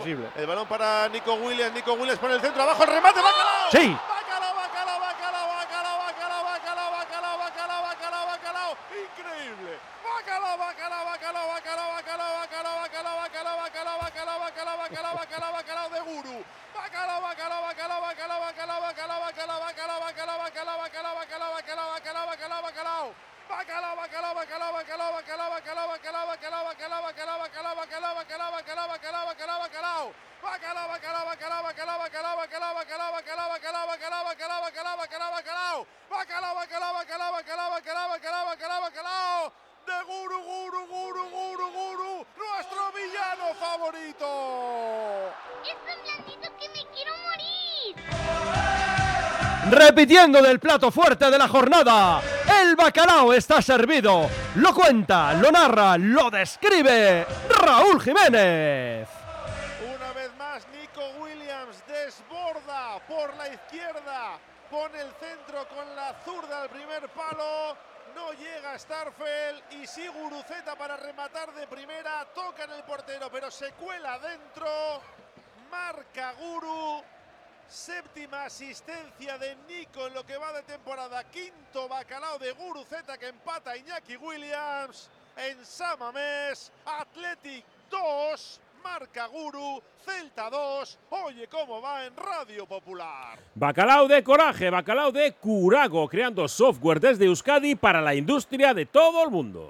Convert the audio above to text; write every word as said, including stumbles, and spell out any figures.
imposible. El balón para Nico Williams, Nico Williams por el centro, abajo el remate, ¡Bacalao! ¡Sí! ¡Bacalao, bacalao, bacalao, bacalao, bacalao, bacalao, bacalao, bacalao, bacalao, bacalao! ¡Increíble! ¡Bacalao, bacalao, bacalao, bacalao, bacalao, bacalao, bacalao, bacalao, bacalao, bacalao, bacalao, bacalao, bacalao, bacalao de Guru! ¡Bacalao, bacalao, bacalao, bacalao, bacalao, bacalao, bacalao, bacalao, bacalao, bacalao, bacalao, bacalao, bacalao, bacalao, bacalao, bacalao! Bacalao, bacalao, bacalao, bacalao, bacalao, bacalao, bacalao, bacalao, bacalao, bacalao, bacalao, bacalao, bacalao, bacalao, bacalao, bacalao, bacalao. Bacalao, bacalao, bacalao, bacalao, bacalao, bacalao, bacalao, bacalao, bacalao, bacalao, bacalao, bacalao, bacalao, bacalao. Bacalao, bacalao, bacalao, bacalao, bacalao, bacalao, bacalao, bacalao. De Guru, Guru, Guru, Guru, Guru, nuestro villano favorito. Es tan blandito que me quiero morir. Repitiendo del plato fuerte de la jornada, el bacalao está servido. Lo cuenta, lo narra, lo describe Raúl Jiménez. Una vez más, Nico Williams desborda por la izquierda, pone el centro con la zurda al primer palo, no llega Starfel y sí Guruceta para rematar de primera, toca en el portero pero se cuela dentro, marca Guru. Séptima asistencia de Nico en lo que va de temporada. Quinto bacalao de Guruceta que empata a Iñaki Williams. En San Mamés, Athletic dos, marca Guru, Celta dos. Oye cómo va en Radio Popular. Bacalao de coraje, bacalao de Curago, creando software desde Euskadi para la industria de todo el mundo.